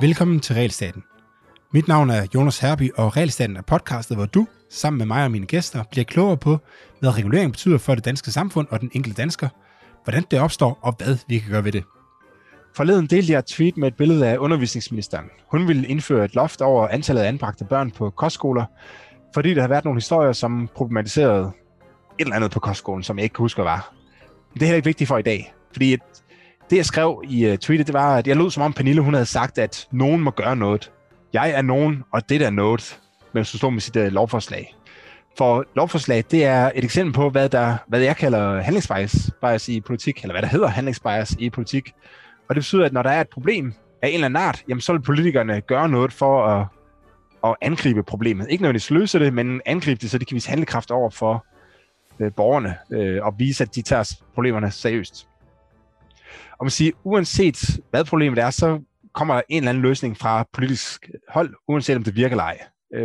Velkommen til Realstaten. Mit navn er Jonas Herby, og Realstaten er podcastet, hvor du, sammen med mig og mine gæster, bliver klogere på, hvad regulering betyder for det danske samfund og den enkelte dansker, hvordan det opstår, og hvad vi kan gøre ved det. Forleden delte jeg et tweet med et billede af undervisningsministeren. Hun ville indføre et loft over antallet af anbragte børn på kostskoler, fordi der har været nogle historier, som problematiserede et eller andet på kostskolen, som jeg ikke kan huske, hvad var. Men det er heller ikke vigtigt for i dag, fordi det, jeg skrev i tweetet, det var, at jeg lød som om Pernille, hun havde sagt, at nogen må gøre noget. Jeg er nogen, og det er noget, men så stod med sit lovforslag. For lovforslag, det er et eksempel på, hvad jeg kalder handlingsbias i politik, eller hvad der hedder handlingsbias i politik. Og det betyder, at når der er et problem af en eller anden art, jamen, så vil politikerne gøre noget for at angribe problemet. Ikke nødvendigvis løse det, men angribe det, så de kan vise handlekraft over for borgerne og vise, at de tager problemerne seriøst. Og man siger, uanset hvad problemet er, så kommer der en eller anden løsning fra politisk hold, uanset om det virker eller ej.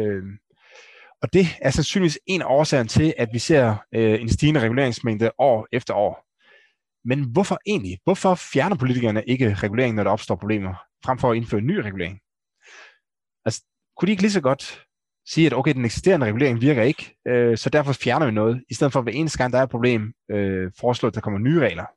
Og det er sandsynligvis en af årsagerne til, at vi ser en stigende reguleringsmængde år efter år. Men hvorfor egentlig? Hvorfor fjerner politikerne ikke regulering, når der opstår problemer, frem for at indføre ny regulering? Altså, kunne de ikke lige så godt sige, at okay, den eksisterende regulering virker ikke, så derfor fjerner vi noget, i stedet for at hver eneste gang, der er et problem, foreslå, at der kommer nye regler.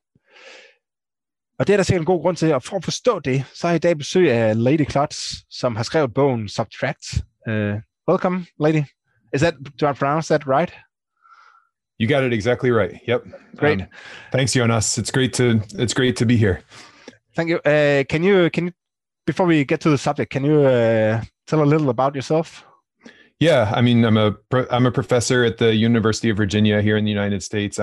Og det er der sikkert en god grund til, og for at forstå det, så har jeg i dag besøg af Lady Klotz, som har skrevet bogen Subtract. Welcome, Lady. Do I pronounce that right? You got it exactly right. Yep. Great. Thanks, Jonas. It's great to be here. Thank you. Can you before we get to the subject, can you tell a little about yourself? Yeah, I mean, I'm a professor at the University of Virginia here in the United States.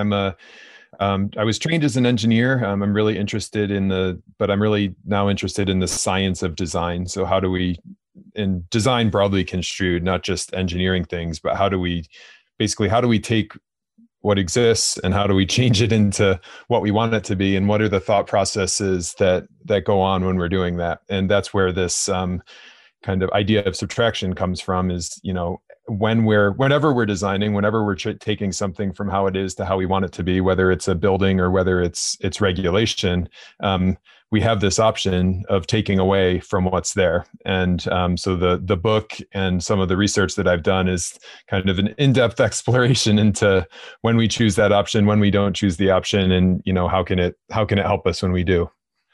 I was trained as an engineer. I'm really interested but I'm really now interested in the science of design. So how do we, in design broadly construed, not just engineering things, but how do we take what exists and how do we change it into what we want it to be, and what are the thought processes that go on when we're doing that? And that's where this kind of idea of subtraction comes from, is, whenever we're designing, whenever we're taking something from how it is to how we want it to be, whether it's a building or whether it's regulation, we have this option of taking away from what's there. And so the book and some of the research that I've done is kind of an in-depth exploration into when we choose that option, when we don't choose the option, and how can it help us when we do.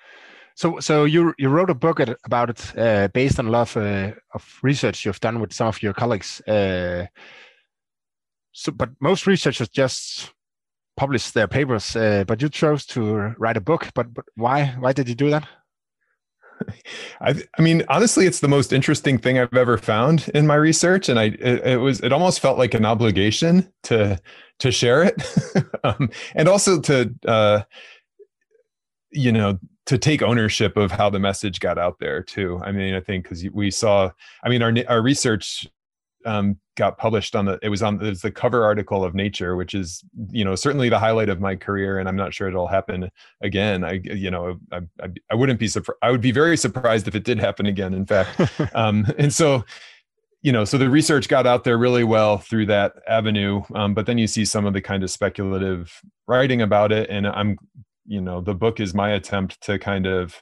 So you wrote a book about it based on a lot of research you've done with some of your colleagues. But most researchers just publish their papers, but you chose to write a book. But why? Why did you do that? I mean, honestly, it's the most interesting thing I've ever found in my research, and it almost felt like an obligation to share it, and also to take ownership of how the message got out there too. I mean, I think because we saw, our research got published it was the cover article of Nature, which is, certainly the highlight of my career. And I'm not sure it'll happen again. I wouldn't be surprised. I would be very surprised if it did happen again, in fact. And so, so the research got out there really well through that avenue. But then you see some of the kind of speculative writing about it. And the book is my attempt to kind of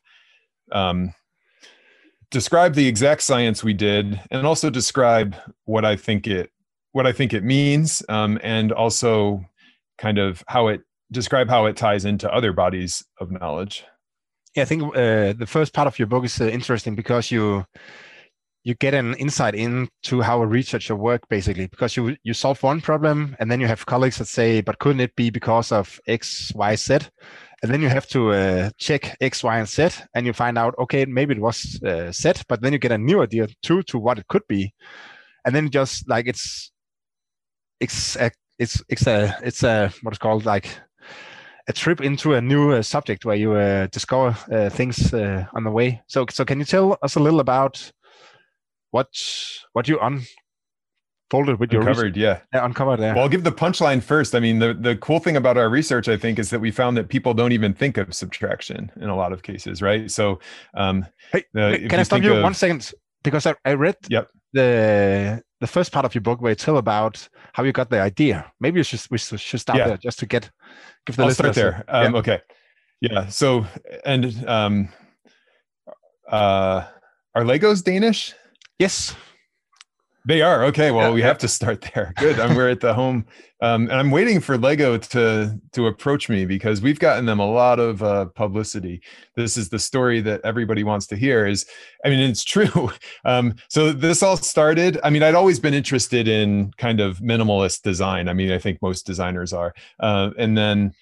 describe the exact science we did, and also describe what I think it means, and also kind of describe how it ties into other bodies of knowledge. Yeah, I think the first part of your book is interesting because you get an insight into how a researcher works, basically, because you solve one problem, and then you have colleagues that say, but couldn't it be because of X, Y, Z? And then you have to check X, Y, and Z, and you find out, okay, maybe it was Z, but then you get a new idea too to what it could be, and then just like it's a what is called like a trip into a new subject where you discover things on the way. So can you tell us a little about what you unfolded with your uncovered, uncovered there? Well, I'll give the punchline first. I mean, the cool thing about our research, I think, is that we found that people don't even think of subtraction in a lot of cases, right? So, can I stop you 1 second? Because I read the first part of your book where you tell about how you got the idea. Maybe we should start there just to give the listeners. I'll start there. Okay. Yeah. So, and Are Legos Danish? Yes. They are. Okay. Well, we have to start there. Good. We're at the home, and I'm waiting for Lego to approach me because we've gotten them a lot of publicity. This is the story that everybody wants to hear. It's true. So this all started. I'd always been interested in kind of minimalist design. I think most designers are, and then.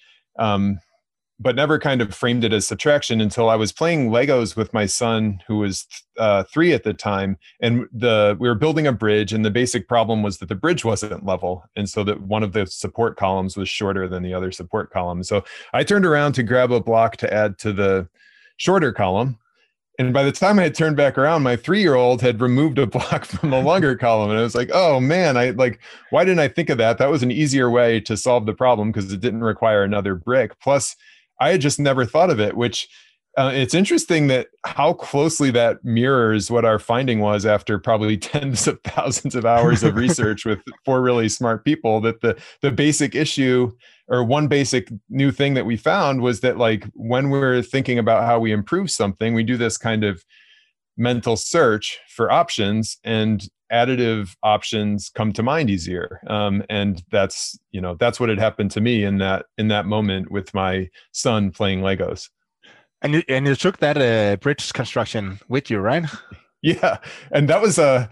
But never kind of framed it as subtraction until I was playing Legos with my son, who was 3 at the time. And we were building a bridge, and the basic problem was that the bridge wasn't level. And so that one of the support columns was shorter than the other support column. So I turned around to grab a block to add to the shorter column. And by the time I had turned back around, my 3-year-old had removed a block from the longer column. And I was like, oh man, why didn't I think of that? That was an easier way to solve the problem because it didn't require another brick. Plus, I had just never thought of it, which it's interesting that how closely that mirrors what our finding was after probably tens of thousands of hours of research with 4 really smart people, that the basic issue, or one basic new thing that we found, was that when we're thinking about how we improve something, we do this kind of mental search for options, and additive options come to mind easier. And that's what had happened to me in that moment with my son playing Legos. And you took that bridge construction with you, right? Yeah. And that was so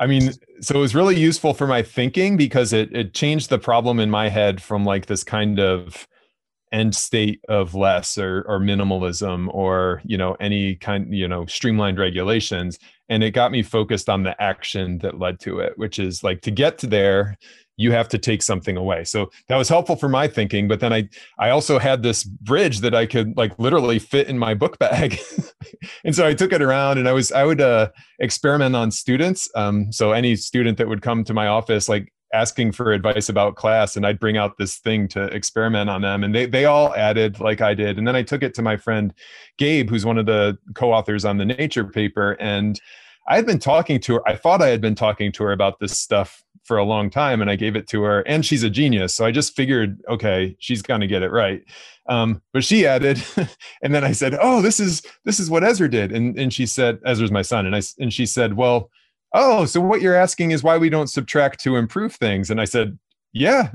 it was really useful for my thinking because it changed the problem in my head from this kind of end state of less or minimalism or any kind streamlined regulations, and it got me focused on the action that led to it, which is to get to there you have to take something away. So that was helpful for my thinking, but then I also had this bridge that I could literally fit in my book bag. And so I took it around, and I would experiment on students. So any student that would come to my office asking for advice about class, and I'd bring out this thing to experiment on them, and they all added like I did. And then I took it to my friend Gabe, who's one of the co-authors on the Nature paper, and I thought I had been talking to her about this stuff for a long time, and I gave it to her, and she's a genius. So I just figured, okay, she's going to get it right. But she added, and then I said, oh, this is what Ezra did. And she said, Ezra's my son. And she said, well, oh, so what you're asking is why we don't subtract to improve things. And I said, yeah,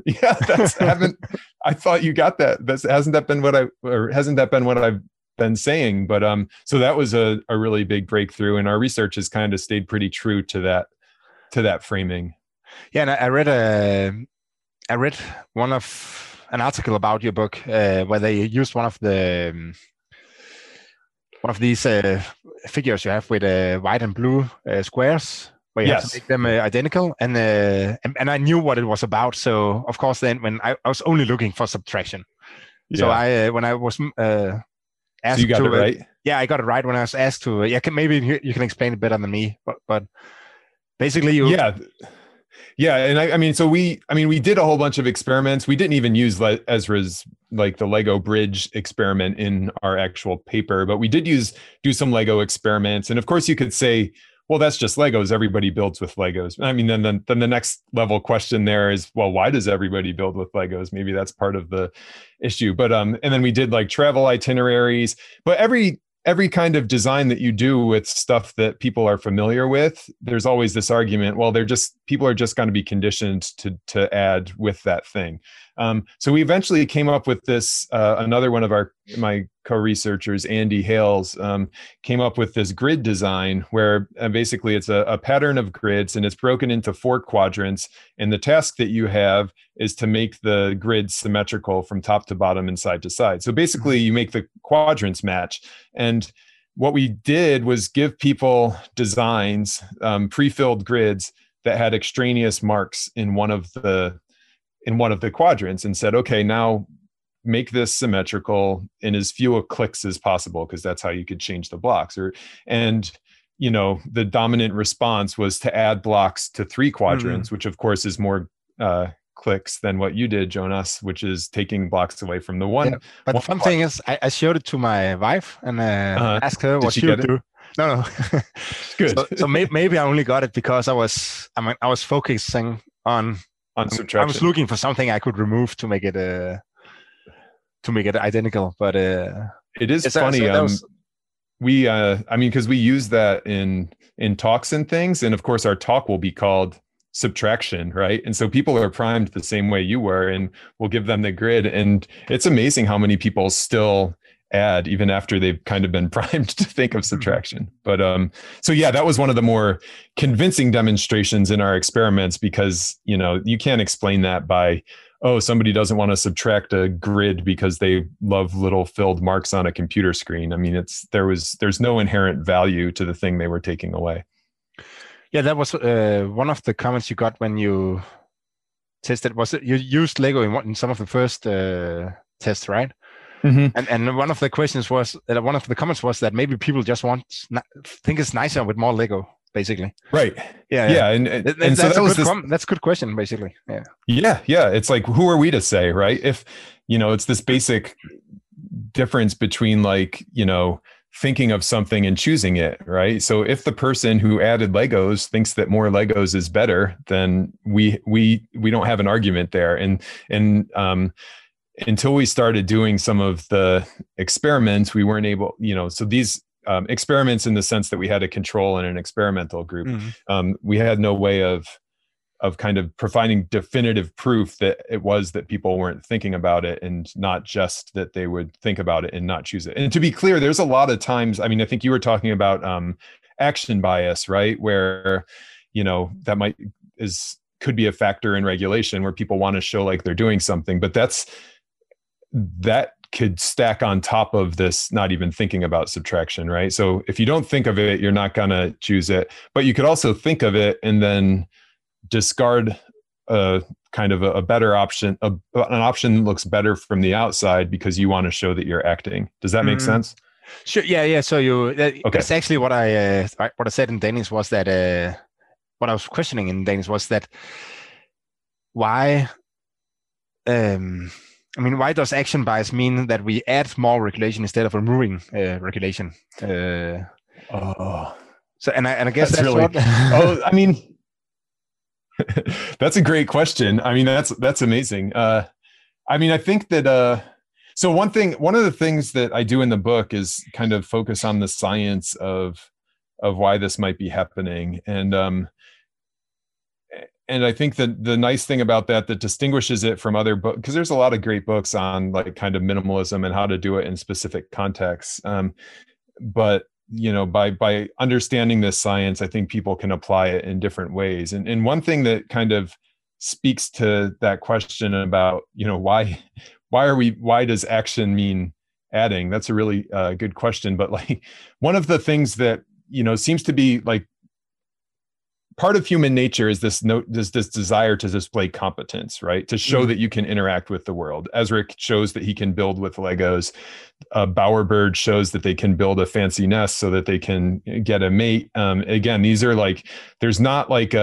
I thought you got that. Hasn't that been what I've been saying? But so that was a really big breakthrough, and our research has kind of stayed pretty true to that framing. Yeah, and I read an article about your book where they used one of these figures you have with white and blue squares, where you have to make them identical, and I knew what it was about. So of course, then when I was only looking for subtraction, so when I was asked, so you got it right. Yeah, I got it right when I was asked to. Maybe you can explain it better than me, but basically you. Yeah, and so we did a whole bunch of experiments. We didn't even use Ezra's the Lego bridge experiment in our actual paper, but we did do some Lego experiments. And of course, you could say, well, that's just Legos. Everybody builds with Legos. Then the next level question there is, well, why does everybody build with Legos? Maybe that's part of the issue. But and then we did travel itineraries. But every kind of design that you do with stuff that people are familiar with, there's always this argument, well, people are just going to be conditioned to add with that thing. So we eventually came up with this, another one of my co-researchers, Andy Hales, came up with this grid design where basically it's a pattern of grids, and it's broken into 4 quadrants. And the task that you have is to make the grid symmetrical from top to bottom and side to side. So basically you make the quadrants match. And what we did was give people designs, pre-filled grids that had extraneous marks in one of the quadrants, and said, okay, now make this symmetrical in as few clicks as possible, because that's how you could change the blocks. The dominant response was to add blocks to 3 quadrants, which of course is more clicks than what you did, Jonas, which is taking blocks away from the one. Yeah, but the fun thing is, I showed it to my wife and asked her what she would do. No. Good. So maybe I only got it because I was focusing on subtraction. I was looking for something I could remove to make it identical. But it is funny. we I mean, because we use that in talks and things, and of course our talk will be called subtraction, right? And so people are primed the same way you were, and we'll give them the grid, and it's amazing how many people still add even after they've kind of been primed to think of subtraction. But so yeah, that was one of the more convincing demonstrations in our experiments, because you can't explain that by, oh, somebody doesn't want to subtract a grid because they love little filled marks on a computer screen. I mean, there's no inherent value to the thing they were taking away. Yeah, that was one of the comments you got when you tested. Was it you used Lego in some of the first tests, right? Mm-hmm. And one of the questions was one of the comments was that maybe people just think it's nicer with more Lego, basically. Right. Yeah. And so that's a good question, basically. Yeah. It's like, who are we to say, right? If it's this basic difference between thinking of something and choosing it, right? So if the person who added Legos thinks that more Legos is better, then we don't have an argument there. And until we started doing some of the experiments, we weren't able, so these experiments, in the sense that we had a control and an experimental group, we had no way of kind of providing definitive proof that it was that people weren't thinking about it, and not just that they would think about it and not choose it. And to be clear, there's a lot of times, I mean, I think you were talking about action bias, right? Where, that could be a factor in regulation, where people want to show like they're doing something, but that could stack on top of this not even thinking about subtraction, right? So if you don't think of it, you're not going to choose it, but you could also think of it and then discard a kind of a better option, an option that looks better from the outside because you want to show that you're acting. Does that make sense? Sure. Yeah. So that's actually what I said in Danish was that what I was questioning in Danish was that why why does action bias mean that we add more regulation instead of removing regulation? So I guess that's really I mean, that's a great question. I mean, that's amazing. I mean, I think that so one of the things that I do in the book is kind of focus on the science of why this might be happening, and I think that the nice thing about that distinguishes it from other books, because there's a lot of great books on like kind of minimalism and how to do it in specific contexts. But by understanding this science, I think people can apply it in different ways. And one thing that kind of speaks to that question about, why does action mean adding? That's a really good question. But like one of the things that, seems to be like part of human nature is this desire to display competence, right? To show that you can interact with the world. Ezric shows that he can build with Legos. Bowerbird shows that they can build a fancy nest so that they can get a mate. Again, these are like, there's not like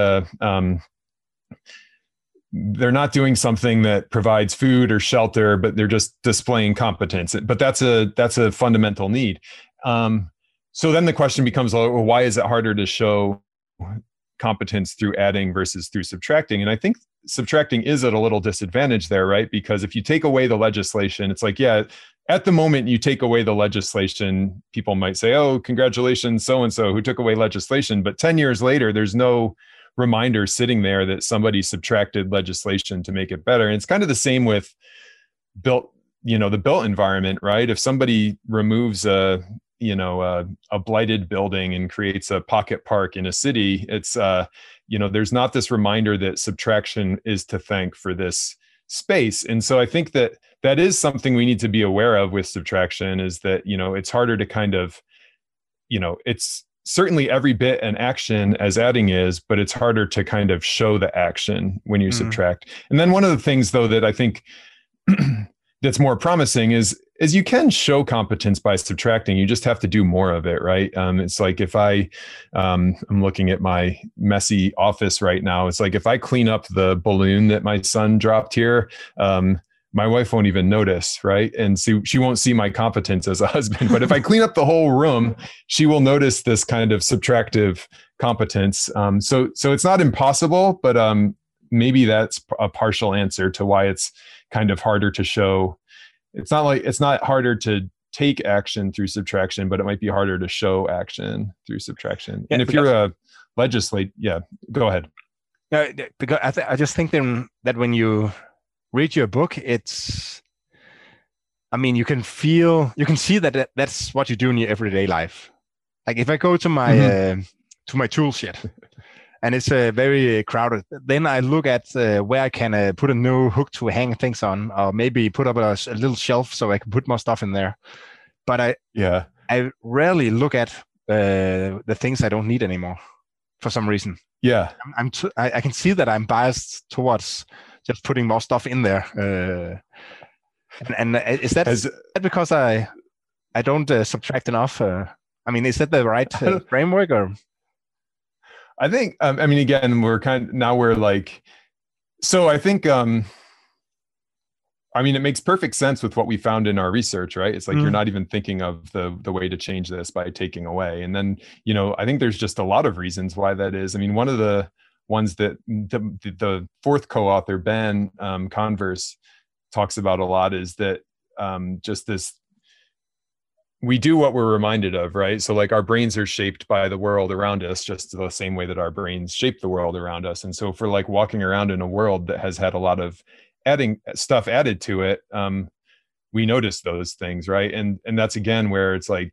they're not doing something that provides food or shelter, but they're just displaying competence. But that's a fundamental need. So then the question becomes, well, why is it harder to show competence through adding versus through subtracting? And I think subtracting is at a little disadvantage there, right? Because if you take away the legislation, it's like, yeah, at the moment you take away the legislation, people might say, oh, congratulations, so-and-so who took away legislation. But 10 years later, there's no reminder sitting there that somebody subtracted legislation to make it better. And it's kind of the same with the built environment, right? If somebody removes a blighted building and creates a pocket park in a city, it's, there's not this reminder that subtraction is to thank for this space. And so I think that is something we need to be aware of with subtraction, is that, it's harder to kind of, it's certainly every bit an action as adding is, but it's harder to kind of show the action when you subtract. And then one of the things though, that I think that's more promising is you can show competence by subtracting. You just have to do more of it, right? It's like if I'm looking at my messy office right now. It's like if I clean up the balloon that my son dropped here, my wife won't even notice, right? And so she won't see my competence as a husband. But if I clean up the whole room, she will notice this kind of subtractive competence. So it's not impossible, but maybe that's a partial answer to why it's kind of harder to show. It's not harder to take action through subtraction, but it might be harder to show action through subtraction. Yeah, and if you're a legislate, go ahead. Because I just think then that when you read your book, it's, I mean, you can see that that's what you do in your everyday life. Like if I go to my tool shed and it's very crowded, then I look at where I can put a new hook to hang things on, or maybe put up a little shelf so I can put more stuff in there. But I rarely look at the things I don't need anymore for some reason. Yeah, I can see that I'm biased towards just putting more stuff in there. And is that because I don't subtract enough? I mean, is that the right framework, or? I think I mean, again, we're like, so I think I mean, it makes perfect sense with what we found in our research, right? It's like you're not even thinking of the way to change this by taking away. And then, I think there's just a lot of reasons why that is. I mean, one of the ones that the fourth co-author, Ben Converse, talks about a lot is that just this, we do what we're reminded of, right? So like our brains are shaped by the world around us, just the same way that our brains shape the world around us. And so if we're like walking around in a world that has had a lot of stuff added to it, we notice those things, right? And that's again where it's like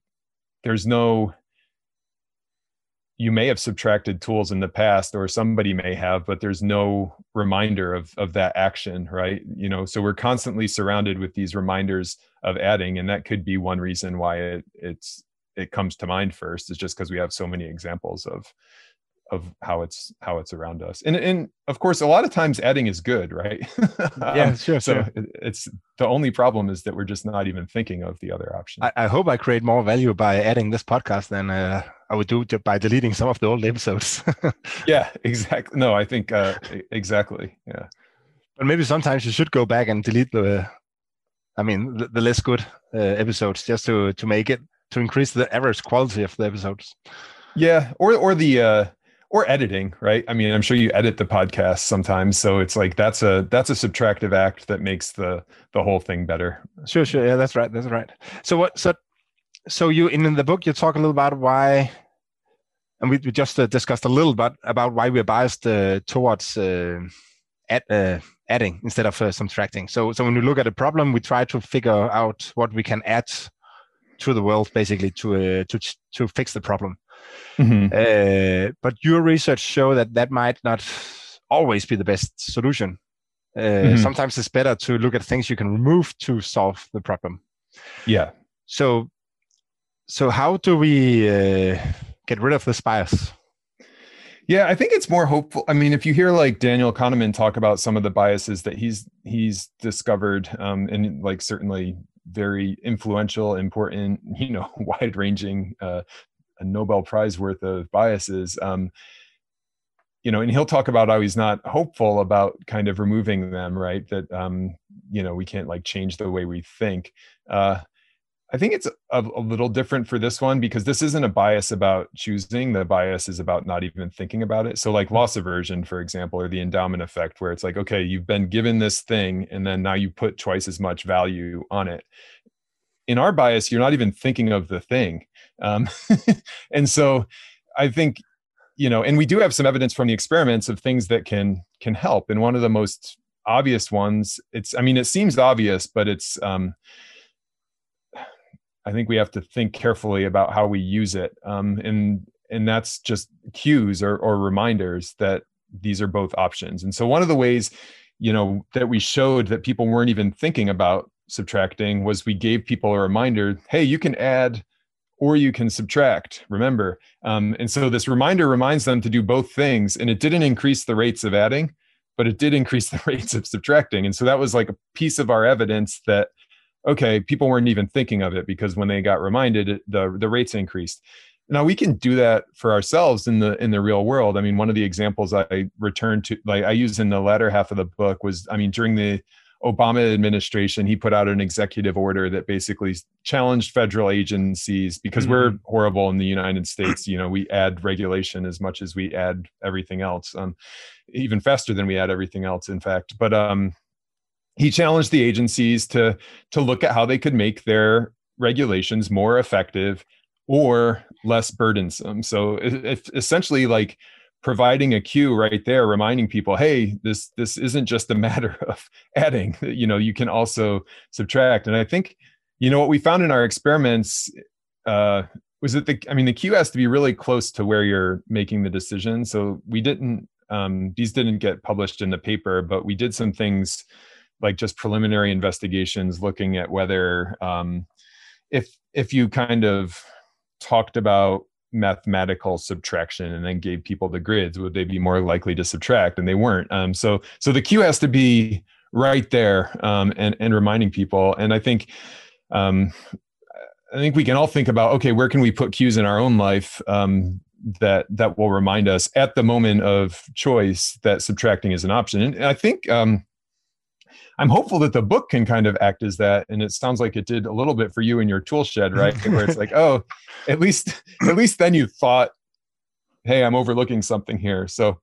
you may have subtracted tools in the past, or somebody may have, but there's no reminder of that action, right? So we're constantly surrounded with these reminders of adding, and that could be one reason why it comes to mind first, is just because we have so many examples of how it's around us. And of course, a lot of times adding is good, right? Yeah, sure. So it's the only problem is that we're just not even thinking of the other option. I hope I create more value by adding this podcast than I would do by deleting some of the old episodes. Yeah, exactly. No, I think exactly. Yeah. But maybe sometimes you should go back and delete the less good episodes, just to increase the average quality of the episodes. Yeah, or editing, right? I mean, I'm sure you edit the podcast sometimes, so it's like that's a subtractive act that makes the whole thing better. Sure. Yeah, that's right. So you in the book you talk a little about why, and we just discussed a little bit about why we're biased towards adding instead of subtracting. So when we look at a problem, we try to figure out what we can add to the world, basically to fix the problem. Mm-hmm. But your research show that might not always be the best solution. Sometimes it's better to look at things you can remove to solve the problem. Yeah. So how do we get rid of this bias? Yeah, I think it's more hopeful. I mean, if you hear like Daniel Kahneman talk about some of the biases that he's discovered, and like certainly very influential, important, wide-ranging, a Nobel Prize worth of biases, and he'll talk about how he's not hopeful about kind of removing them, right? That, we can't like change the way we think. I think it's a little different for this one, because this isn't a bias about choosing. The bias is about not even thinking about it. So like loss aversion, for example, or the endowment effect, where it's like, okay, you've been given this thing and then now you put twice as much value on it. In our bias, you're not even thinking of the thing. And so I think, and we do have some evidence from the experiments of things that can help. And one of the most obvious ones, it seems obvious, but it's, I think we have to think carefully about how we use it. And that's just cues or reminders that these are both options. And so one of the ways, that we showed that people weren't even thinking about subtracting was we gave people a reminder, hey, you can add or you can subtract, remember. And so this reminder reminds them to do both things. And it didn't increase the rates of adding, but it did increase the rates of subtracting. And so that was like a piece of our evidence that, okay, people weren't even thinking of it, because when they got reminded, the rates increased. Now we can do that for ourselves in the real world. I mean, one of the examples I returned to, like I used in the latter half of the book was, during the Obama administration, he put out an executive order that basically challenged federal agencies, because we're horrible in the United States. We add regulation as much as we add everything else, even faster than we add everything else, in fact. But he challenged the agencies to look at how they could make their regulations more effective or less burdensome. So it's essentially like providing a cue right there, reminding people, hey, this isn't just a matter of adding, you can also subtract. And I think, what we found in our experiments was that the cue has to be really close to where you're making the decision. So we didn't, these didn't get published in the paper, but we did some things like just preliminary investigations looking at whether if you kind of talked about mathematical subtraction and then gave people the grids, would they be more likely to subtract? And they weren't. So the cue has to be right there, and reminding people. And I think we can all think about, okay, where can we put cues in our own life that will remind us at the moment of choice that subtracting is an option. And I think I'm hopeful that the book can kind of act as that. And it sounds like it did a little bit for you in your tool shed, right? Where it's like, oh, at least then you thought, hey, I'm overlooking something here. So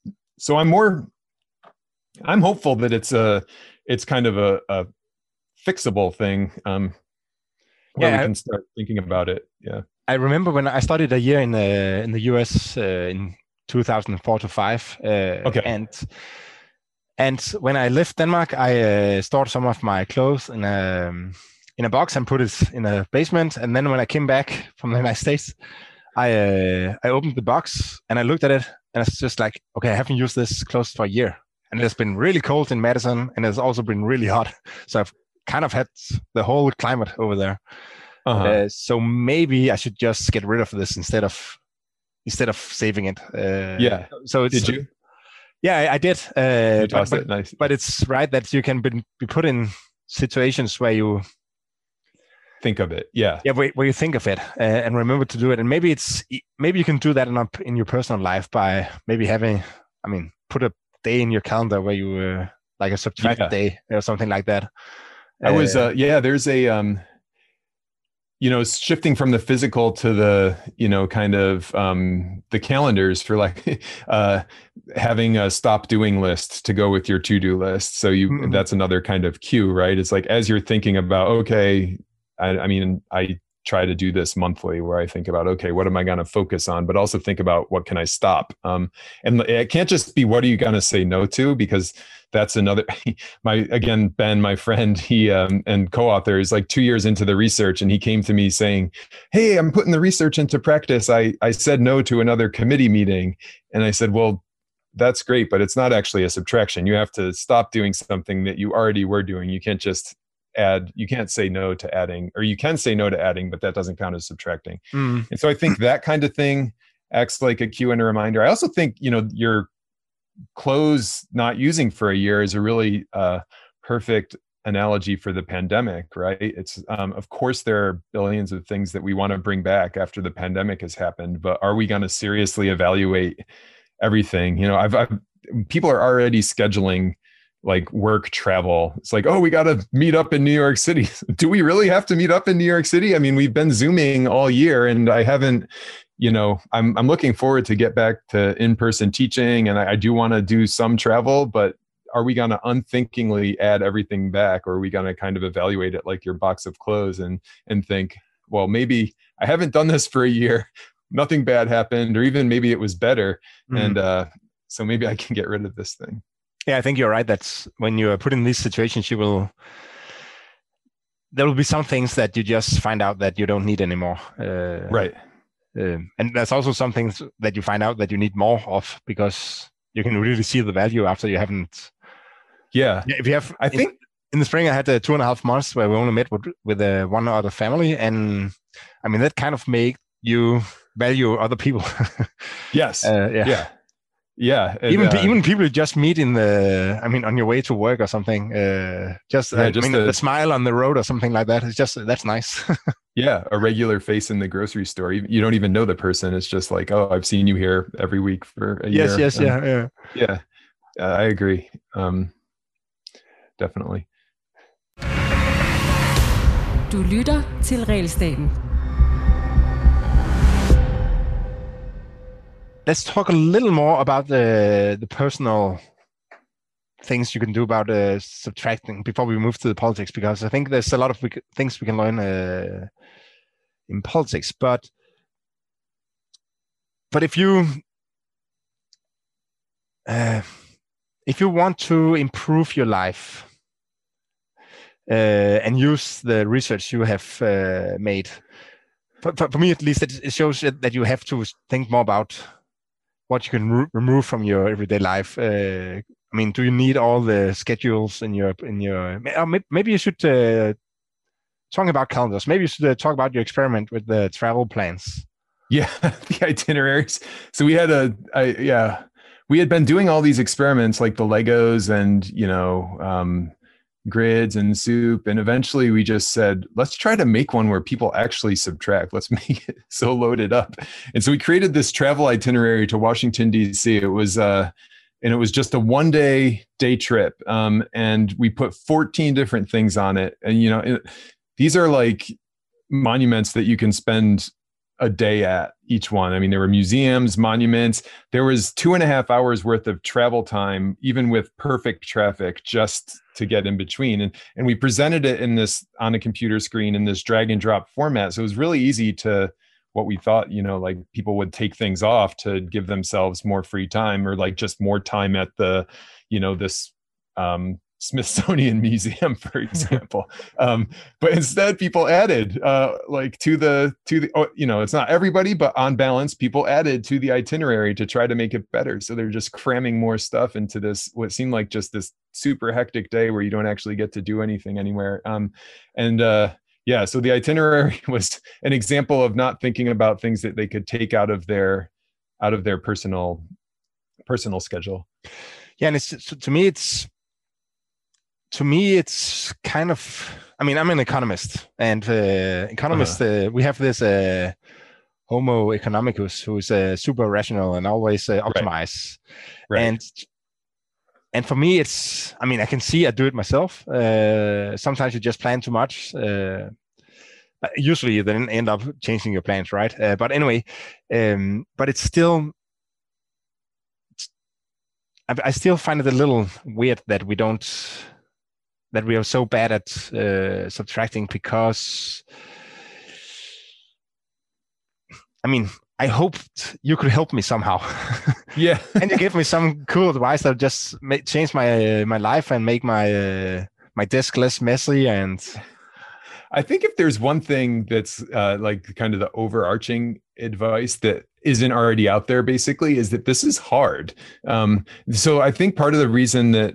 I'm hopeful that it's kind of a fixable thing where we can start thinking about it. Yeah. I remember when I studied a year in the US in 2004 to 5. Okay. And when I left Denmark, I stored some of my clothes in a box and put it in a basement. And then when I came back from the United States, I opened the box and I looked at it, and it's just like, okay, I haven't used this clothes for a year, and it's been really cold in Madison, and it's also been really hot. So I've kind of had the whole climate over there. Uh-huh. So maybe I should just get rid of this instead of saving it. Yeah. So did you? Yeah, I did. Nice. But it's right that you can be put in situations where you think of it. Yeah. Yeah, where you think of it and remember to do it. And maybe you can do that in your personal life by maybe put a day in your calendar where you like a subtract day or something like that. There's a shifting from the physical to the, kind of the calendars for like having a stop doing list to go with your to-do list. So that's another kind of cue, right? It's like, as you're thinking about, okay, I try to do this monthly where I think about, okay, what am I going to focus on? But also think about what can I stop? And it can't just be, what are you going to say no to? Because that's another, Ben, my friend, he and co-author is like 2 years into the research, and he came to me saying, hey, I'm putting the research into practice. I said no to another committee meeting. And I said, well, that's great, but it's not actually a subtraction. You have to stop doing something that you already were doing. You can't just add, you can't say no to adding, or you can say no to adding, but that doesn't count as subtracting. And so I think that kind of thing acts like a cue and a reminder. I also think, your clothes not using for a year is a really perfect analogy for the pandemic, right? It's of course there are billions of things that we want to bring back after the pandemic has happened, but are we going to seriously evaluate everything? People are already scheduling like work travel. It's like, oh, we got to meet up in New York City. Do we really have to meet up in New York City? I mean, we've been Zooming all year, and I haven't, I'm looking forward to get back to in-person teaching, and I do want to do some travel, but are we going to unthinkingly add everything back? Or are we going to kind of evaluate it like your box of clothes and think, well, maybe I haven't done this for a year. Nothing bad happened, or even maybe it was better. And so maybe I can get rid of this thing. Yeah, I think you're right. That's when you are put in these situations, there will be some things that you just find out that you don't need anymore. Right. And there's also some things that you find out that you need more of, because you can really see the value after you haven't. Yeah. If you have, I think in the spring I had 2.5 months where we only met with one other family, and that kind of made you value other people. Yes. Yeah. Yeah. Even people you just meet on your way to work or something, the smile on the road or something like that. That's nice. Yeah. A regular face in the grocery store. You don't even know the person. It's just like, oh, I've seen you here every week for a year. Yes. Yeah. Yeah. I agree. Definitely. Du lytter til Regelstaten. Let's talk a little more about the personal things you can do about subtracting before we move to the politics, because I think there's a lot of things we can learn in politics. But if you want to improve your life and use the research you have made, for me at least, it shows that you have to think more about what you can remove from your everyday life. I mean, do you need all the schedules in your? Maybe you should talk about calendars. Maybe you should talk about your experiment with the travel plans. Yeah, the itineraries. So we had we had been doing all these experiments like the Legos and grids and soup, and eventually we just said, let's try to make one where people actually subtract. Let's make it so loaded up. And so we created this travel itinerary to Washington, D.C. It was and it was just a 1-day trip. And we put 14 different things on it. And, these are like monuments that you can spend a day at each one. I mean, there were museums, monuments. There was 2.5 hours worth of travel time, even with perfect traffic, just to get in between. And we presented it on a computer screen in this drag and drop format. So it was really easy to, what we thought, like people would take things off to give themselves more free time, or like just more time at the, this Smithsonian Museum, for example. But instead people added it's not everybody, but on balance, people added to the itinerary to try to make it better. So they're just cramming more stuff into this, what seemed like just this super hectic day where you don't actually get to do anything anywhere. So the itinerary was an example of not thinking about things that they could take out of their personal schedule. Yeah, and to me, it's kind of, I mean, I'm an economist, and we have this Homo economicus who is super rational and always optimize. Right. And for me, it's, I mean, I can see I do it myself. Sometimes you just plan too much. Usually you then end up changing your plans, right? But anyway, but it's still, I still find it a little weird that we are so bad at subtracting, because, I mean, I hoped you could help me somehow. Yeah. And you give me some cool advice that just change my life and make my desk less messy. And I think if there's one thing that's like kind of the overarching advice that isn't already out there, basically, is that this is hard. So I think part of the reason that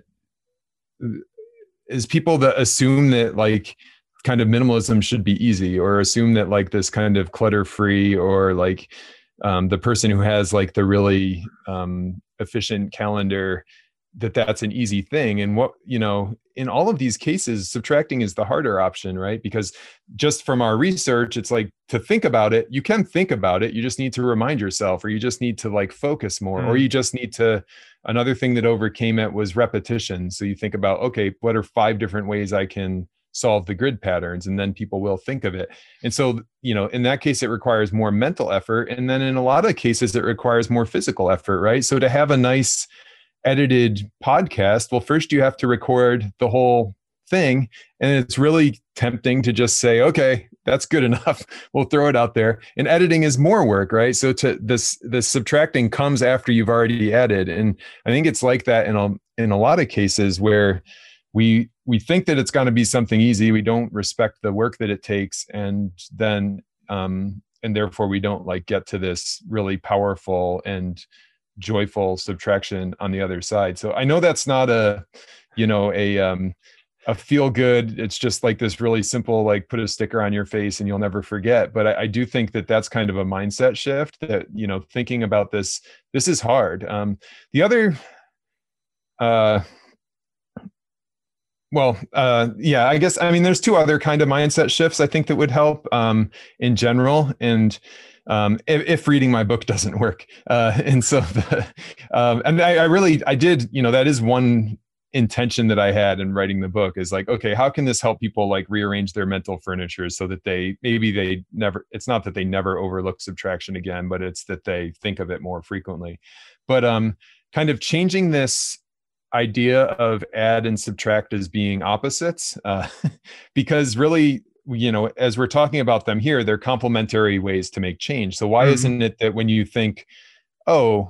is people that assume that like kind of minimalism should be easy, or assume that like this kind of clutter free, or like the person who has like the really efficient calendar, that's an easy thing. And what, in all of these cases, subtracting is the harder option, right? Because just from our research, it's like, to think about it, you can think about it. You just need to remind yourself, or you just need to like focus more, or you just need to, another thing that overcame it was repetition. So you think about, okay, what are 5 different ways I can solve the grid patterns? And then people will think of it. And so, in that case, it requires more mental effort. And then in a lot of cases, it requires more physical effort, right? So to have a nice edited podcast, well, first you have to record the whole thing. And it's really tempting to just say, okay, that's good enough. We'll throw it out there. And editing is more work, right? So this subtracting comes after you've already added. And I think it's like that in a lot of cases where we think that it's going to be something easy. We don't respect the work that it takes. And then, and therefore we don't like get to this really powerful and joyful subtraction on the other side. So I know that's not a feel good. It's just like this really simple, like put a sticker on your face and you'll never forget. But I do think that that's kind of a mindset shift, that, thinking about this is hard. The other, I guess, I mean, there's 2 other kind of mindset shifts I think that would help in general. And if reading my book doesn't work. And so, I did, that is one intention that I had in writing the book, is like, okay, how can this help people like rearrange their mental furniture so that it's not that they never overlook subtraction again, but it's that they think of it more frequently. But kind of changing this idea of add and subtract as being opposites, because really, as we're talking about them here, they're complementary ways to make change. So why isn't it that when you think, oh,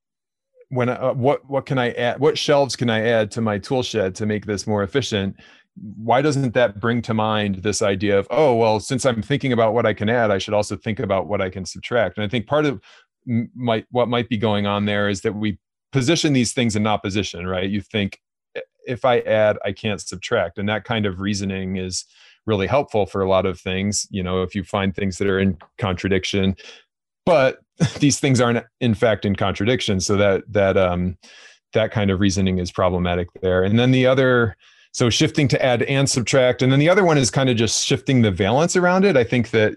what can I add? What shelves can I add to my tool shed to make this more efficient? Why doesn't that bring to mind this idea of, oh, well, since I'm thinking about what I can add, I should also think about what I can subtract? And I think part of what might be going on there is that we position these things in opposition, right? You think, if I add, I can't subtract. And that kind of reasoning is really helpful for a lot of things. If you find things that are in contradiction, but these things aren't in fact in contradiction. So that kind of reasoning is problematic there. And then so shifting to add and subtract. And then the other one is kind of just shifting the valence around it. I think that,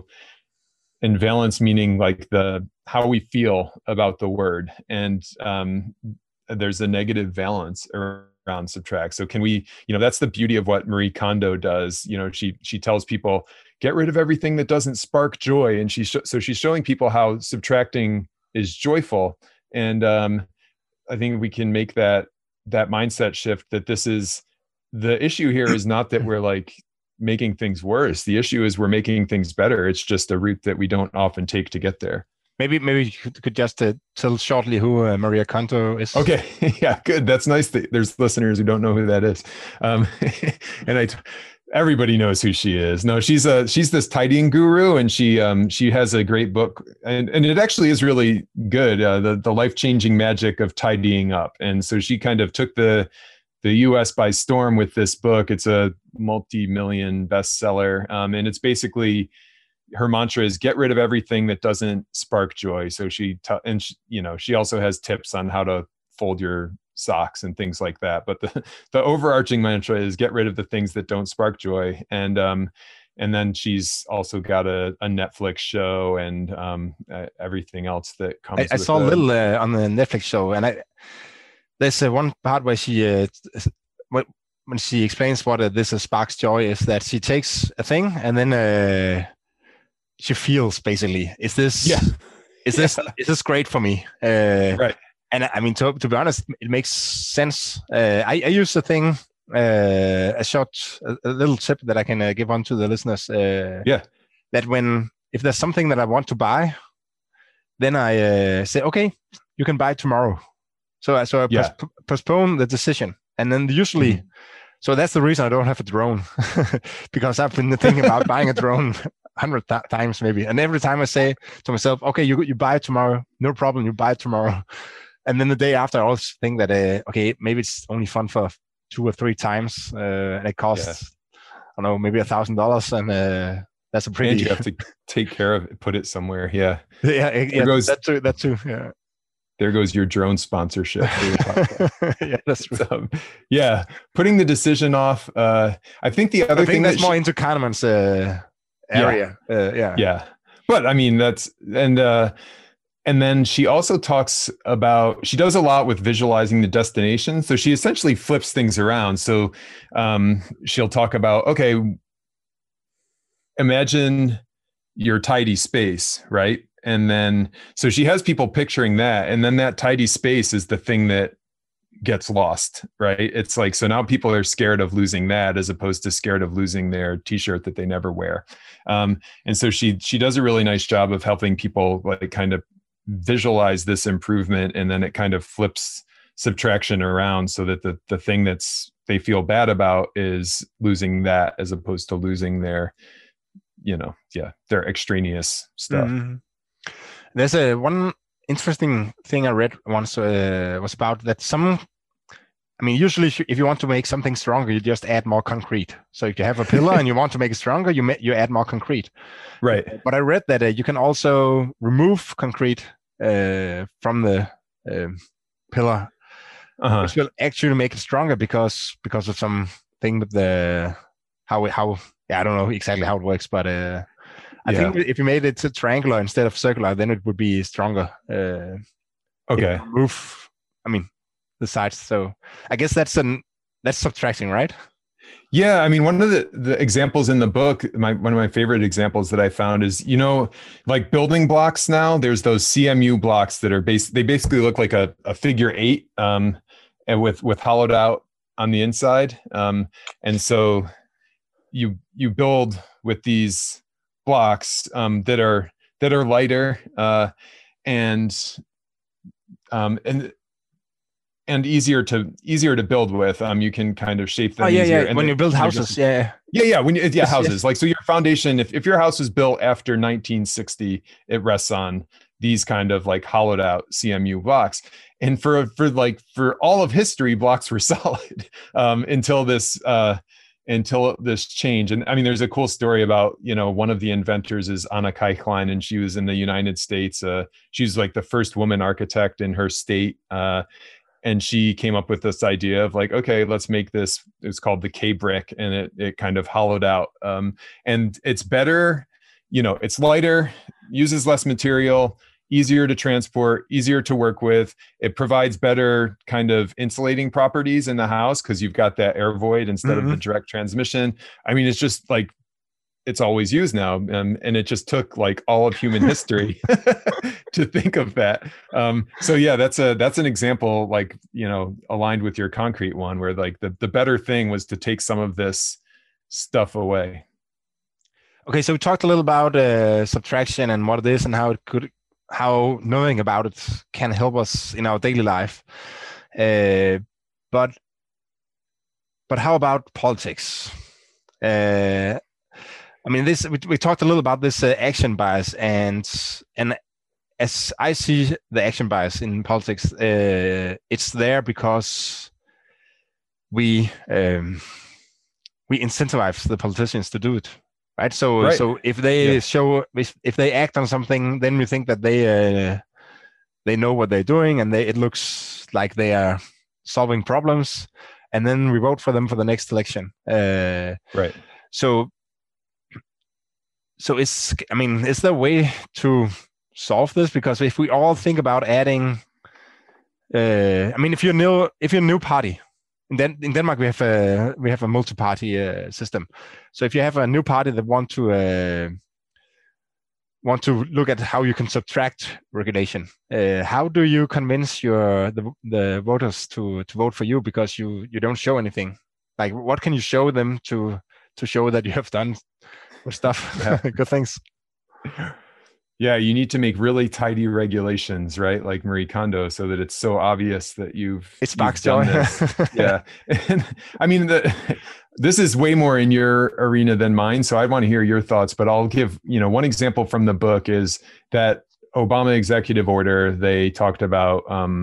and valence meaning like how we feel about the word. And there's a negative valence around subtract. So can we, that's the beauty of what Marie Kondo does. She tells people, get rid of everything that doesn't spark joy. And so she's showing people how subtracting is joyful. And I think we can make that mindset shift, that this is the issue here is not that we're like making things worse. The issue is we're making things better. It's just a route that we don't often take to get there. Maybe you could just tell shortly who Maria Kondo is. Okay, yeah, good. That's nice that there's listeners who don't know who that is. And everybody knows who she is. No, she's this tidying guru, and she has a great book, and it actually is really good. The life-changing magic of tidying up. And so she kind of took the U.S. by storm with this book. It's a multi-million bestseller, and it's basically, her mantra is get rid of everything that doesn't spark joy. So she also has tips on how to fold your socks and things like that. But the overarching mantra is get rid of the things that don't spark joy. And then she's also got a Netflix show and everything else that comes. I saw a little on the Netflix show, and there's one part where she when she explains what this sparks joy is, that she takes a thing and then she feels basically, is this great for me? Right. And I mean, to be honest, it makes sense. I use the thing, a little tip that I can give on to the listeners. That if there's something that I want to buy, then I say, okay, you can buy it tomorrow. So I postpone the decision. And then usually, so that's the reason I don't have a drone, because I've been thinking about buying a drone 100 times maybe. And every time I say to myself, okay, you buy it tomorrow, no problem, you buy it tomorrow. And then the day after, I always think that, okay, maybe it's only fun for 2 or 3 times. And it costs, I don't know, maybe $1,000. And that's a pretty... And you have to take care of it, put it somewhere. Yeah. That too. Yeah. There goes your drone sponsorship. Yeah, that's true. Putting the decision off. I think the other thing that's more into Kahneman's area. Yeah. But I mean, and then she also talks about, she does a lot with visualizing the destination. So she essentially flips things around. So she'll talk about, okay, imagine your tidy space, right? And then, so she has people picturing that. And then that tidy space is the thing that gets lost, right? It's like, so now people are scared of losing that as opposed to scared of losing their t-shirt that they never wear. And so she does a really nice job of helping people like kind of visualize this improvement. And then it kind of flips subtraction around so that the thing they feel bad about is losing that as opposed to losing their, their extraneous stuff. Mm-hmm. There's one interesting thing I read once was about that usually if you want to make something stronger, you just add more concrete. So if you have a pillar and you want to make it stronger, you add more concrete. Right. But I read that you can also remove concrete from the pillar, which will actually make it stronger because of something with how I don't know exactly how it works, but I think if you made it triangular instead of circular, then it would be stronger. Okay. Remove, the sides. So I guess that's subtracting, right? Yeah. I mean, one of the examples in the book, one of my favorite examples that I found is, like building blocks now, there's those CMU blocks that are they basically look like a figure 8. and with hollowed out on the inside. And so you build with these blocks that are lighter and easier to build with. You can kind of shape them easier. And when you build houses, houses. Like, so your foundation, if your house was built after 1960, it rests on these kind of like hollowed out CMU blocks. And for all of history, blocks were solid until this change. And I mean, there's a cool story about, one of the inventors is Anna Keichlein, and she was in the United States. She was like the first woman architect in her state. And she came up with this idea of like, okay, let's make this, it's called the K brick, and it kind of hollowed out. And it's better, it's lighter, uses less material, easier to transport, easier to work with. It provides better kind of insulating properties in the house because you've got that air void instead of the direct transmission. I mean, it's just like, it's always used now. And it just took like all of human history to think of that. So yeah, that's an example, like, aligned with your concrete one, where like the better thing was to take some of this stuff away. Okay. So we talked a little about subtraction and what it is and how knowing about it can help us in our daily life. But how about politics? I mean, we talked a little about this action bias, and as I see the action bias in politics, it's there because we incentivize the politicians to do it. Right. So if they if they act on something, then we think that they know what they're doing, and it looks like they are solving problems, and then we vote for them for the next election. Right. So is there a way to solve this? Because if we all think about adding, if you're a new party. In Denmark, we have a multi-party system. So if you have a new party that want to look at how you can subtract regulation, how do you convince the voters to vote for you, because you don't show anything? Like, what can you show them to show that you have done good stuff, good things? Yeah, you need to make really tidy regulations, right? Like Marie Kondo, so that it's so obvious that you've done this. Yeah. And I mean, this is way more in your arena than mine, so I want to hear your thoughts, but I'll give, one example from the book is that Obama executive order. They talked about,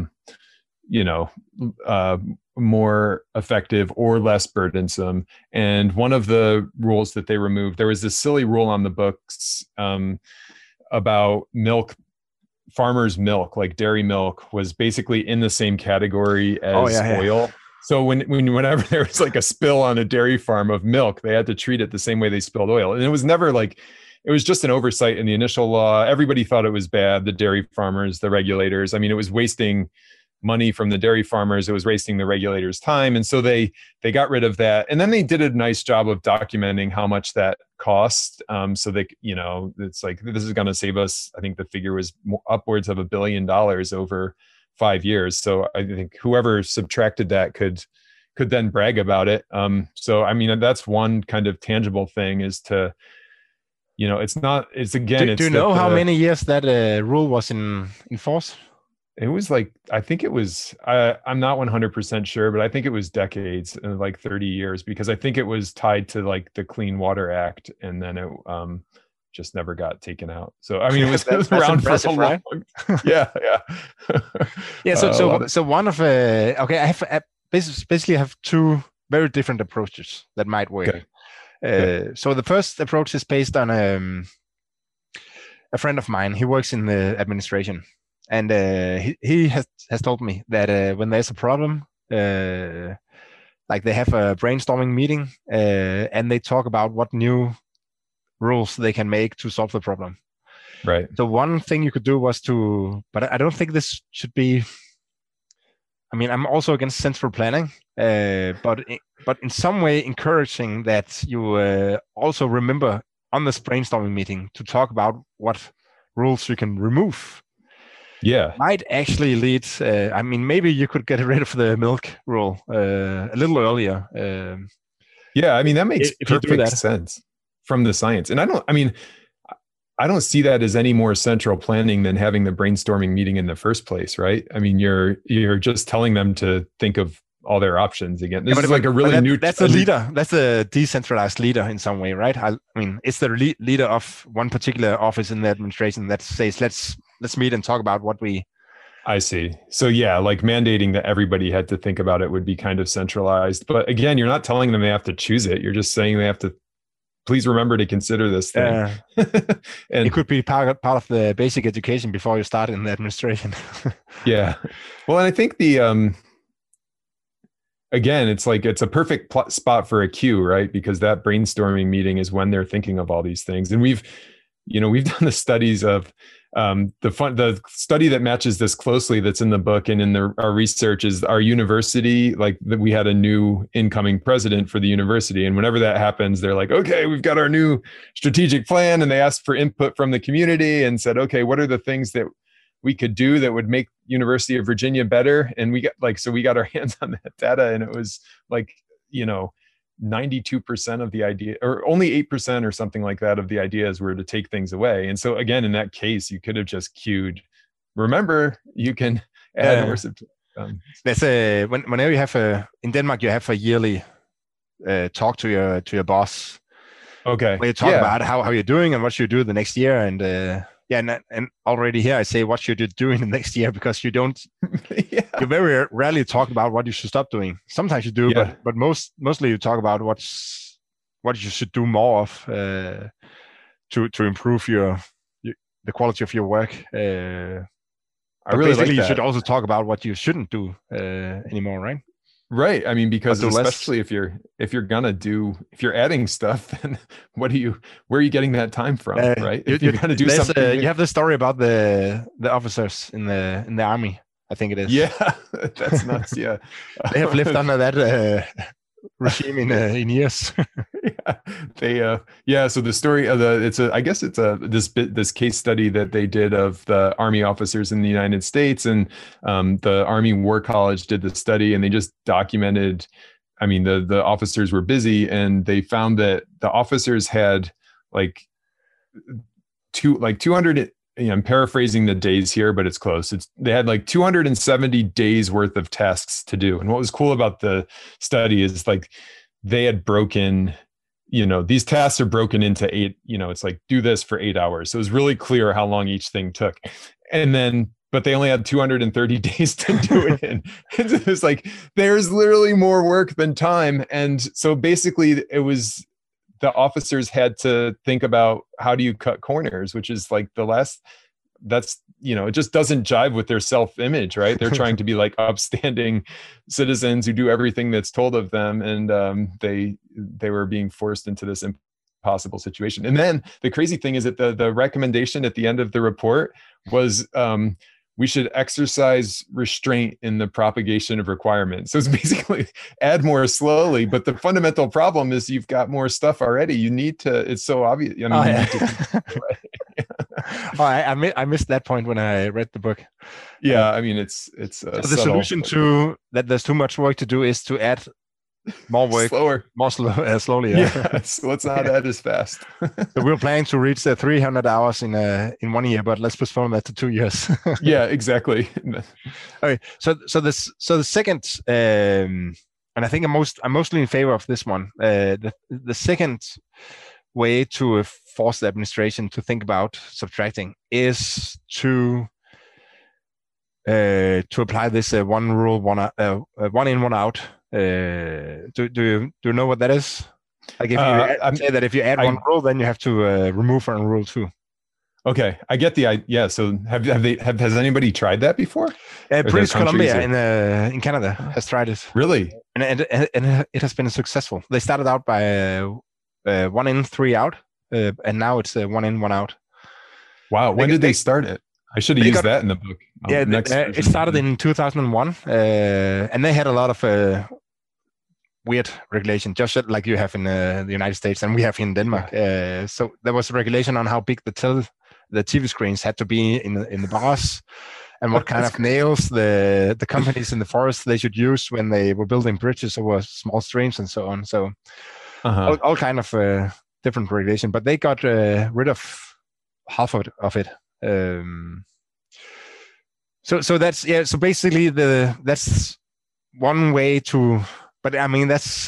more effective or less burdensome. And one of the rules that they removed, there was this silly rule on the books, about milk, farmers' milk, like dairy milk, was basically in the same category as oil. So whenever there was like a spill on a dairy farm of milk, they had to treat it the same way they spilled oil. And it was never like, it was just an oversight in the initial law. Everybody thought it was bad, the dairy farmers, the regulators. I mean, it was wasting money from the dairy farmers. It was wasting the regulators' time. And so they got rid of that. And then they did a nice job of documenting how much that cost. So they, it's like, this is going to save us, I think the figure was upwards of $1 billion over 5 years. So I think whoever subtracted that could then brag about it. So, I mean, that's one kind of tangible thing, is to, do you know how many years that rule was in force? It was like, I think it was, I'm not 100% sure, but I think it was decades, like 30 years, because I think it was tied to like the Clean Water Act, and then it just never got taken out. So, I mean, it was around for so long. Right? Yeah. Yeah. So one of, I basically have two very different approaches that might work. Okay. So the first approach is based on a friend of mine. He works in the administration. And he has told me that when there's a problem, like they have a brainstorming meeting, and they talk about what new rules they can make to solve the problem. Right. So one thing you could do was but I don't think this should be. I mean, I'm also against central planning, but in some way encouraging that you also remember on this brainstorming meeting to talk about what rules you can remove. might actually lead. I mean, maybe you could get rid of the milk rule a little earlier. Yeah, I mean, that makes if you do perfect that. sense from the science. And I don't see that as any more central planning than having the brainstorming meeting in the first place, right? I mean, you're just telling them to think of all their options again. This is like a really new. That's a leader. That's a decentralized leader in some way, right? I mean, it's the leader of one particular office in the administration that says, let's meet and talk about what we. I see. So yeah, like mandating that everybody had to think about it would be kind of centralized. But again, you're not telling them they have to choose it. You're just saying they have to. Please remember to consider this thing. And it could be part of the basic education before you start in the administration. Yeah. Well, and I think again, it's like it's a perfect spot for a cue, right? Because that brainstorming meeting is when they're thinking of all these things. And we've done the studies of the study that matches this closely that's in the book and in our research is our university. Like we had a new incoming president for the university, and whenever that happens, they're like, okay, we've got our new strategic plan, and they asked for input from the community and said, okay, what are the things that we could do that would make University of Virginia better? And we got our hands on that data, and it was like 92% of the idea, or only 8% or something like that of the ideas were to take things away. And so again, in that case, you could have just queued. Remember, you can add more. There's whenever you have in Denmark, you have a yearly talk to your boss. Okay. Where you talk about how you're doing and what you do the next year, and and already here I say what should you do in the next year, because you don't. You very rarely talk about what you should stop doing. Sometimes you do, but mostly you talk about what you should do more of to improve the quality of your work. I really like that. You should also talk about what you shouldn't do anymore, right? Right. I mean, because especially if you're adding stuff, then where are you getting that time from? Right. If you're going to do something. You have the story about the officers in the army. I think it is. Yeah, that's nuts. Yeah. They have lived under that regime in years. So the story of this case study that they did of the Army officers in the United States, and the Army War College did the study, and they just documented. I mean, the officers were busy, and they found that the officers had like 200. I'm paraphrasing the days here, but it's close. They had like 270 days worth of tasks to do. And what was cool about the study is like they had broken, these tasks are broken into 8, it's like do this for 8 hours. So it was really clear how long each thing took. But they only had 230 days to do it in. And it was like, there's literally more work than time. And so basically it was, the officers had to think about how do you cut corners, which is like it just doesn't jive with their self-image, right? They're trying to be like upstanding citizens who do everything that's told of them. And they were being forced into this impossible situation. And then the crazy thing is that the recommendation at the end of the report was, we should exercise restraint in the propagation of requirements. So it's basically add more slowly, but the fundamental problem is you've got more stuff already. You need to, it's so obvious. I missed that point when I read the book. Yeah. I mean, it's so the solution to that there's too much work to do is to add more work, slowly. Yeah. So let's not add as fast. So we're planning to reach the 300 hours in 1 year, but let's postpone that to 2 years. Yeah, exactly. Okay. So the second, and I think I'm mostly in favor of this one. The second way to force the administration to think about subtracting is to apply this one rule, one in, one out. Do you know what that is? Like if say that if you add one rule, then you have to remove one rule too. Okay, I get the idea. Yeah. So has anybody tried that before? British Columbia in Canada has tried it. Really? And it has been successful. They started out by 1 in, 3 out, and now it's 1 in, 1 out. Wow. When did they start it? I should have used that in the book. It started in 2001, and they had a lot of weird regulation, just like you have in the United States and we have in Denmark. So there was a regulation on how big the TV screens had to be in the bars, and what kind of nails the companies in the forest they should use when they were building bridges over small streams and so on. So all kind of different regulation, but they got rid of half of it. So that's So basically, that's one way to. But I mean, that's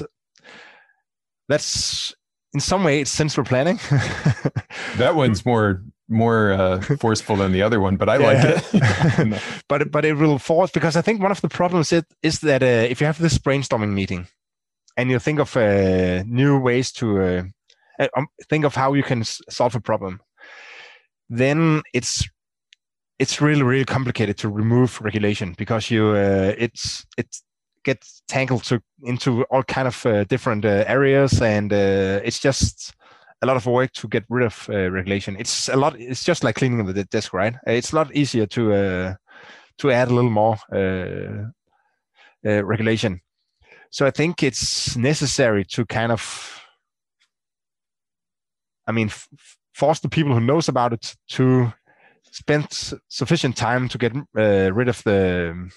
in some way it's central planning. That one's more forceful than the other one, but I like it. but it will force, because I think one of the problems is that if you have this brainstorming meeting and you think of new ways to think of how you can solve a problem, then it's really, really complicated to remove regulation, because it gets tangled into all kind of different areas, and it's just a lot of work to get rid of regulation. It's just like cleaning the desk, right? It's a lot easier to add a little more regulation. So I think it's necessary to kind of, force the people who knows about it to spend sufficient time to get rid of the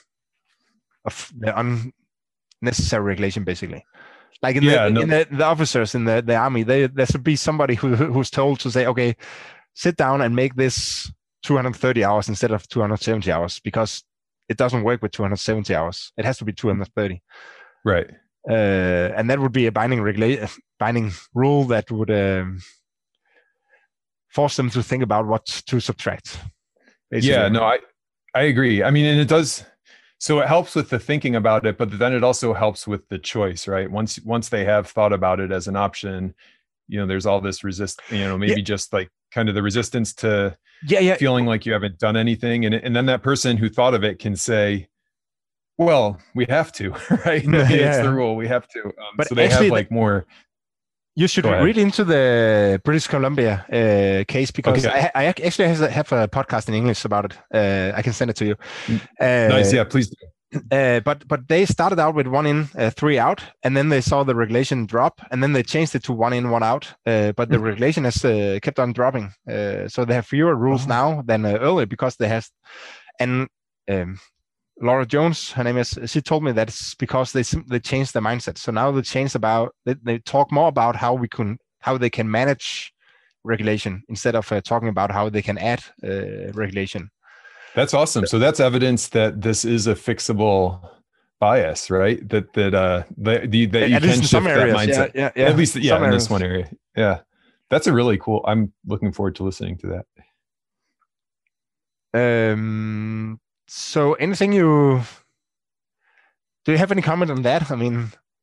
unnecessary regulation, basically. Like in the officers in the army, there should be somebody who's told to say, okay, sit down and make this 230 hours instead of 270 hours, because it doesn't work with 270 hours. It has to be 230. Right. And that would be a binding rule that would force them to think about what to subtract. Basically. Yeah, no, I agree. I mean, and it does. So it helps with the thinking about it, but then it also helps with the choice, right? Once they have thought about it as an option, there's all this maybe just like kind of the resistance to feeling like you haven't done anything. And then that person who thought of it can say, well, we have to, right? It's the rule. We have to. But so they have like more. You should read into the British Columbia case, because I actually have a podcast in English about it. I can send it to you. Nice, yeah, please do. But they started out with 1 in, 3 out, and then they saw the regulation drop, and then they changed it to 1 in, 1 out. But the regulation has kept on dropping. So they have fewer rules now than earlier, because they have. And Laura Jones, her name is, she told me that it's because they changed their mindset. So now they talk more about how they can manage regulation instead of talking about how they can add regulation. That's awesome. So that's evidence that this is a fixable bias, right? That you can shift that mindset. Yeah. At least in this one area. Yeah. That's a really cool. I'm looking forward to listening to that. So anything do you have any comment on that? I mean,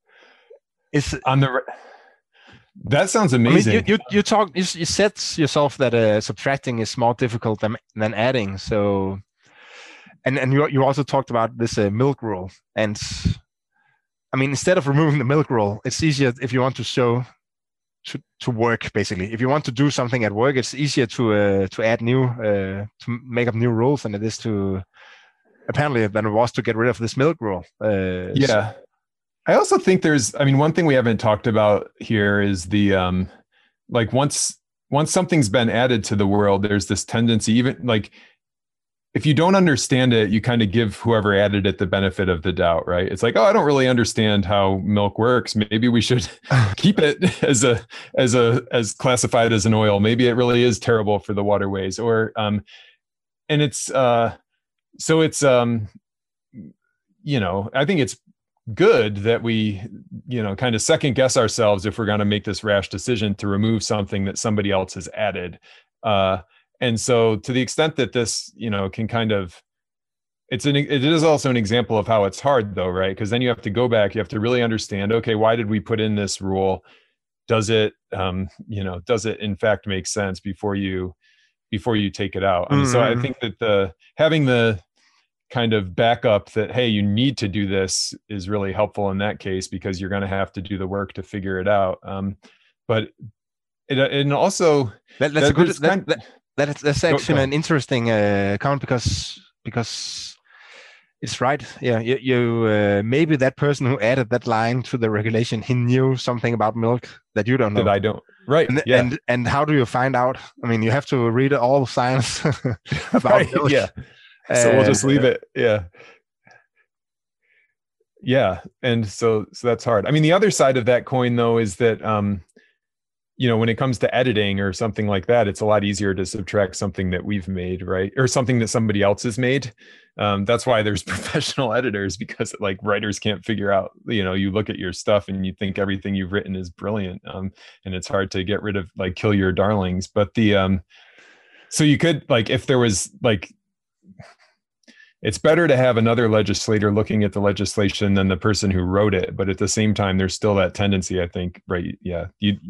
that sounds amazing. I mean, you said yourself that subtracting is more difficult than adding. So, and you also talked about this milk rule. And I mean, instead of removing the milk rule, it's easier if you want to show to work, basically. If you want to do something at work, it's easier to add new to make up new rules than it is to apparently than it was to get rid of this milk rule. I also think one thing we haven't talked about here is the like once something's been added to the world, there's this tendency, even like if you don't understand it, you kind of give whoever added it the benefit of the doubt, right? It's like, oh, I don't really understand how milk works. Maybe we should keep it as classified as an oil. Maybe it really is terrible for the waterways, or and it's so it's I think it's good that we kind of second guess ourselves if we're going to make this rash decision to remove something that somebody else has added. And so to the extent that this, can kind of, it is also an example of how it's hard though, right? Because then you have to go back, you have to really understand, okay, why did we put in this rule? Does it, does it in fact make sense before you take it out? So I think that having the kind of backup that, hey, you need to do this is really helpful in that case, because you're going to have to do the work to figure it out. But and also that's actually an interesting comment, because it's right. Yeah, you maybe that person who added that line to the regulation, he knew something about milk that you don't know. That I don't. Right. And how do you find out? I mean, you have to read all the science about milk. Yeah. So we'll just leave it. Yeah. And so that's hard. I mean, the other side of that coin though, is that, when it comes to editing or something like that, it's a lot easier to subtract something that we've made, right? Or something that somebody else has made. That's why there's professional editors, because like writers can't figure out, you look at your stuff and you think everything you've written is brilliant. And it's hard to get rid of, like, kill your darlings. But so you could, like, if there was like, it's better to have another legislator looking at the legislation than the person who wrote it. But at the same time, there's still that tendency, I think, right? Yeah.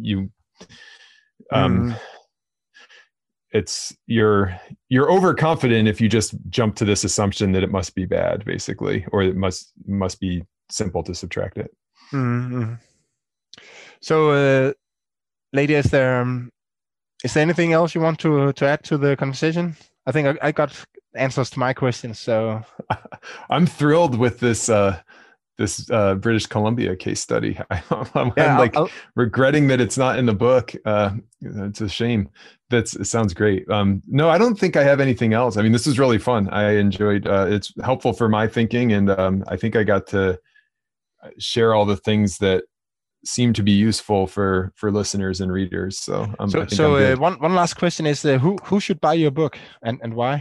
You're overconfident if you just jump to this assumption that it must be bad, basically, or it must be simple to subtract it. Mm-hmm. So, lady, is there anything else you want to add to the conversation? I think I got answers to my questions. So I'm thrilled with this British Columbia case study. I'm regretting that it's not in the book. It's a shame. It sounds great. No, I don't think I have anything else. I mean, this is really fun. I enjoyed, it's helpful for my thinking. And I think I got to share all the things that seem to be useful for listeners and readers. So one last question is, who should buy your book and why?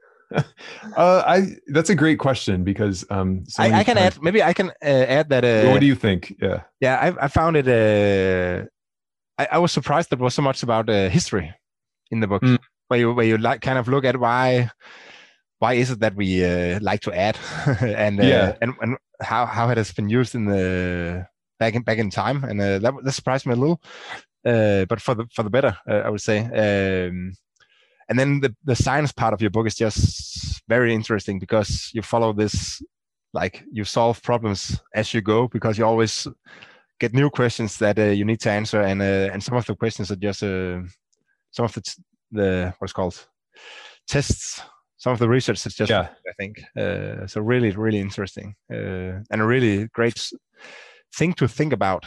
That's a great question, because I can add that. What do you think? I found it. I was surprised there was so much about history in the book, where you like kind of look at why is it that we like to add and how it has been used in the back in time, and that surprised me a little, but for the better, I would say. And then the science part of your book is just very interesting, because you follow this, like, you solve problems as you go, because you always get new questions that you need to answer, and some of the questions are just some of the what's called tests. Some of the research is just, I think, so really, really interesting, and a really great thing to think about.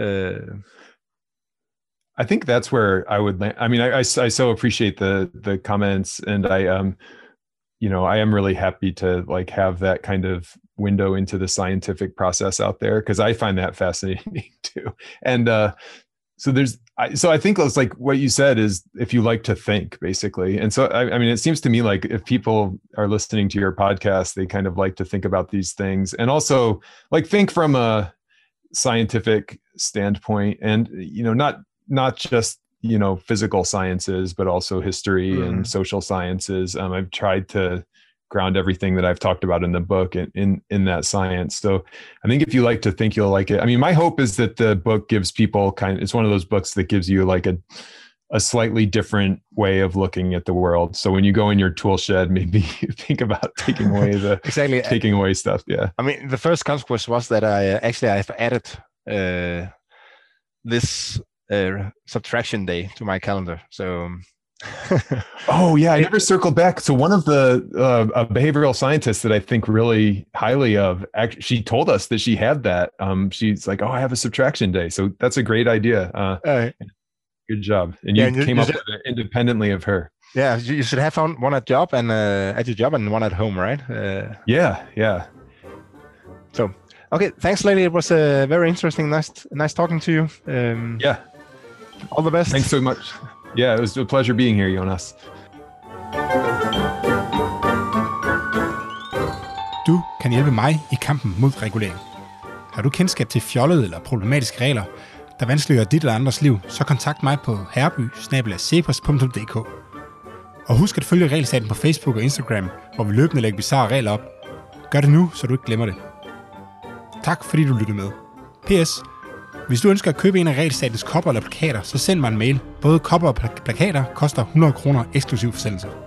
I think that's where I would land. I mean, I so appreciate the comments, and I am really happy to, like, have that kind of window into the scientific process out there, because I find that fascinating too. And so I think it's like what you said is, if you like to think, basically. And so I mean, it seems to me like if people are listening to your podcast, they kind of like to think about these things, and also like think from a scientific standpoint, and not just physical sciences, but also history and social sciences. I've tried to ground everything that I've talked about in the book in that science. So I think if you like to think, you'll like it. I mean, my hope is that the book gives people it's one of those books that gives you like a slightly different way of looking at the world. So when you go in your tool shed, maybe think about taking away stuff. Yeah. I mean, the first consequence was that I've added this subtraction day to my calendar. So oh yeah, I never circled back. So one of the behavioral scientists that I think really highly of, actually, she told us that she had that. She's like, oh, I have a subtraction day. So that's a great idea. Good job. And you came up with it independently of her. Yeah, you should have found one at your job and one at home, right? Yeah. So okay, thanks, lady. It was very interesting. Nice talking to you. Yeah. All the best. Thanks so much. Yeah, it was a pleasure being here, Jonas. Du kan hjælpe mig i kampen mod regulering. Har du kendskab til fjollede eller problematiske regler, der vanskeliggør dit eller andres liv, så kontakt mig på herreby@cepos.dk. Og husk at følge Regelstaten på Facebook og Instagram, hvor vi løbende lægger bizarre regler op. Gør det nu, så du ikke glemmer det. Tak fordi du lyttede med. PS. Hvis du ønsker at købe en af Regelstatens kopper eller plakater, så send mig en mail. Både kopper og plakater koster 100 kroner eksklusiv forsendelse.